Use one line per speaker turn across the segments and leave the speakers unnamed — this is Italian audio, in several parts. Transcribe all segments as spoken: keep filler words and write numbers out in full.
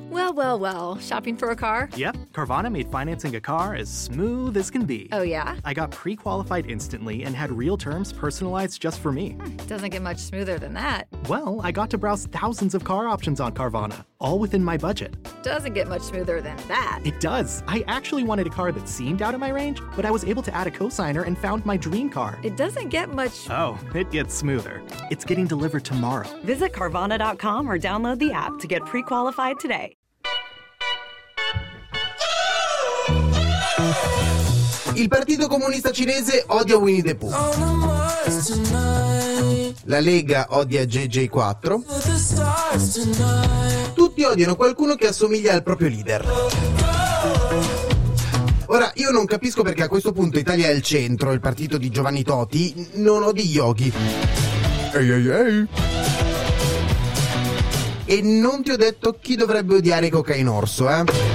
Well, well, well. Shopping for a car?
Yep, Carvana made financing a car as smooth as can be.
Oh, yeah?
I got pre-qualified instantly and had real terms personalized just for me.
Hmm, doesn't get much smoother than that.
Well, I got to browse thousands of car options on Carvana, all within my budget.
Doesn't get much smoother than that.
It does. I actually wanted a car that seemed out of my range, but I was able to add a cosigner and found my dream car.
It doesn't get much...
Oh, it gets smoother. It's getting delivered tomorrow.
Visit Carvana dot com or download the app to get pre-qualified today.
Il Partito Comunista Cinese odia Winnie the Pooh. La Lega odia J J quattro. Tutti odiano qualcuno che assomiglia al proprio leader. Ora, io non capisco perché a questo punto Italia è il centro, il partito di Giovanni Toti, non odi Yogi. Ehi ehi ehi. E non ti ho detto chi dovrebbe odiare Cocainorso, eh?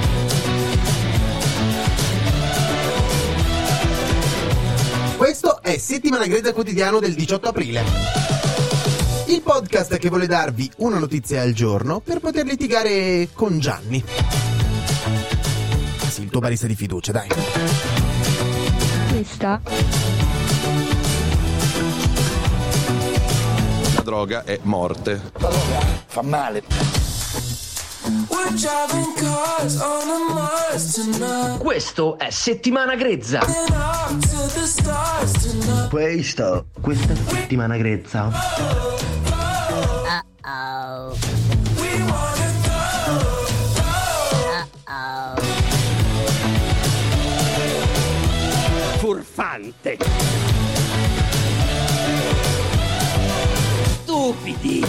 Questo è Settimana Grezza Quotidiano del diciotto aprile. Il podcast che vuole darvi una notizia al giorno per poter litigare con Gianni. Sì, il tuo barista di fiducia, dai.
Questa
la droga è morte.
La droga fa male.
Questo è Settimana Grezza.
Questo, questa è Settimana Grezza.
Uh-oh. Uh-oh.
Furfante. Stupidi.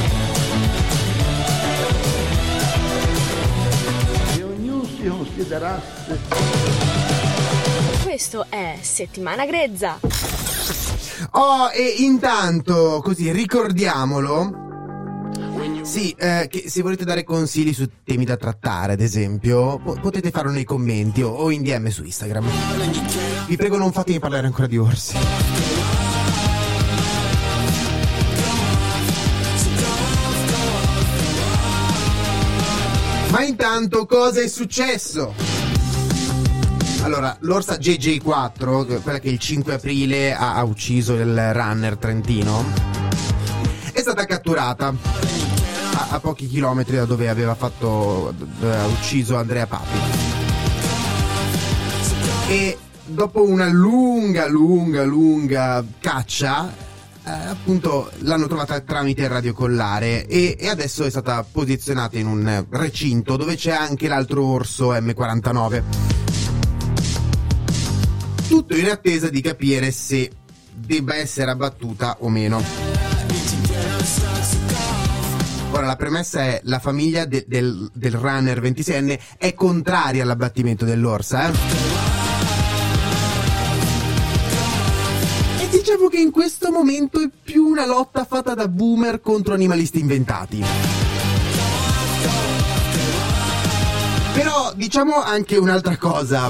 Considerasse.
Questo è Settimana Grezza.
Oh, e intanto, così ricordiamolo. Sì, eh, che se volete dare consigli su temi da trattare, ad esempio, po- potete farlo nei commenti o, o in D M su Instagram. Vi prego, non fatemi parlare ancora di orsi. Ma intanto cosa è successo? Allora, l'orsa J J quattro, quella che il cinque aprile ha, ha ucciso il runner trentino, è stata catturata a, a pochi chilometri da dove aveva fatto dove aveva ucciso Andrea Papi. E dopo una lunga, lunga, lunga caccia, Eh, appunto l'hanno trovata tramite radiocollare e, e adesso è stata posizionata in un recinto dove c'è anche l'altro orso M quarantanove, tutto in attesa di capire se debba essere abbattuta o meno. Ora, la premessa è: la famiglia de- del, del runner ventiseienne è contraria all'abbattimento dell'orsa, eh? Diciamo che in questo momento è più una lotta fatta da boomer contro animalisti inventati. Però diciamo anche un'altra cosa.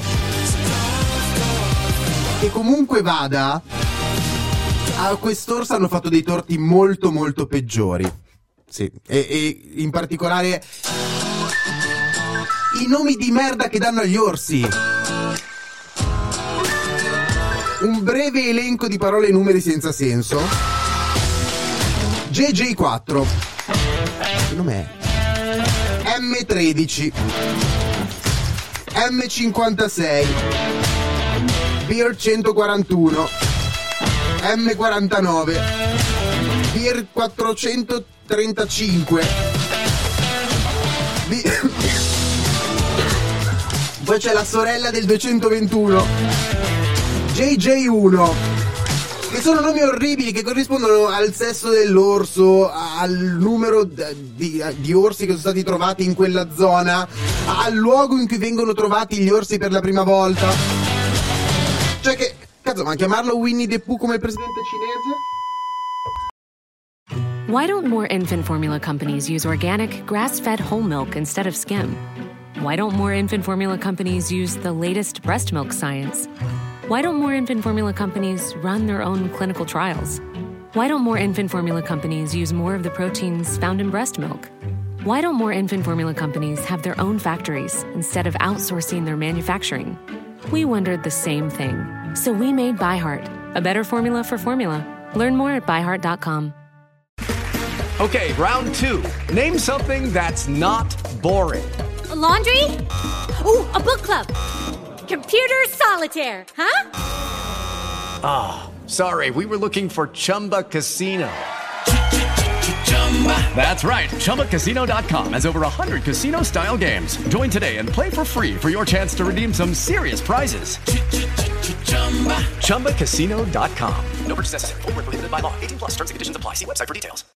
Che comunque vada, a quest'orsa hanno fatto dei torti molto molto peggiori. Sì, e, e in particolare i nomi di merda che danno agli orsi. Un breve elenco di parole e numeri senza senso. J J quattro. Che nome è? M tredici. M cinquantasei. Beer centoquarantuno. M quarantanove. Beer quattrocentotrentacinque. Be- Poi c'è la sorella del duecentoventuno. J J uno, che sono nomi orribili che corrispondono al sesso dell'orso, al numero di, di orsi che sono stati trovati in quella zona, al luogo in cui vengono trovati gli orsi per la prima volta. Cioè che, cazzo, ma chiamarlo Winnie the Pooh come il presidente cinese?
Why don't more infant formula companies use organic, grass-fed whole milk instead of skim? Why don't more infant formula companies use the latest breast milk science? Why don't more infant formula companies run their own clinical trials? Why don't more infant formula companies use more of the proteins found in breast milk? Why don't more infant formula companies have their own factories instead of outsourcing their manufacturing? We wondered the same thing. So we made ByHeart, a better formula for formula. Learn more at by heart dot com.
Okay, round two. Name something that's not boring.
A laundry? Ooh, a book club. Computer solitaire, huh?
Ah, oh, sorry, we were looking for Chumba Casino. That's right, Chumba Casino dot com has over one hundred casino-style games. Join today and play for free for your chance to redeem some serious prizes. Chumba Casino dot com. No purchase necessary. Void where prohibited by law. eighteen plus terms and conditions apply. See website for details.